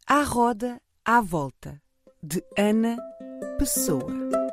À roda, à volta, de Ana Pessoa.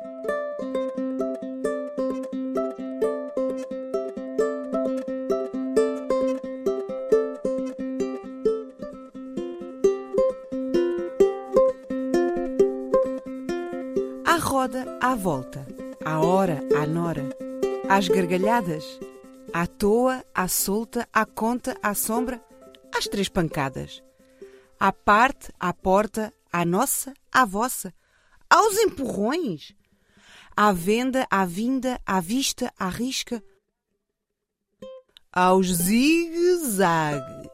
À roda, à volta, à hora, à nora, às gargalhadas, à toa, à solta, à conta, à sombra, às três pancadas. À parte, à porta, à nossa, à vossa, aos empurrões, à venda, à vinda, à vista, à risca, aos zigue-zagues.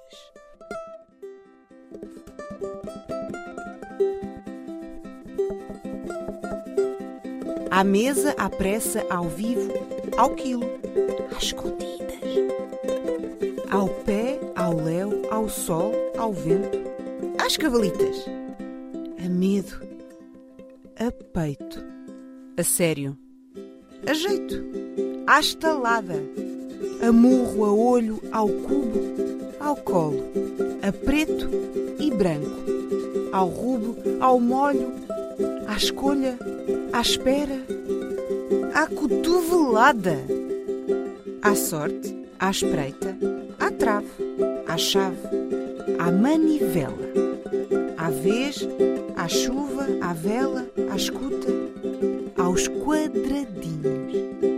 À mesa, à pressa, ao vivo, ao quilo, às escondidas, ao pé, ao léu, ao sol, ao vento, às cavalitas, a medo, a peito, a sério, a jeito, à estalada, a murro, a olho, ao cubo, ao colo, a preto e branco, ao rubo, ao molho, à escolha, à espera, à cotovelada, à sorte, à espreita, à trave, à chave, à manivela, à vez, à chuva, à vela, à escuta, aos quadradinhos,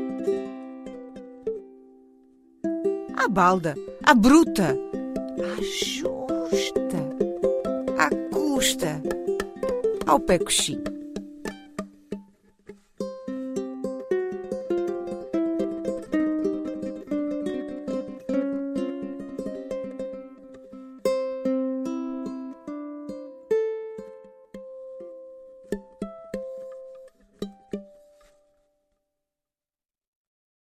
à balda, à bruta, à justa, à custa, ao pé coxinho.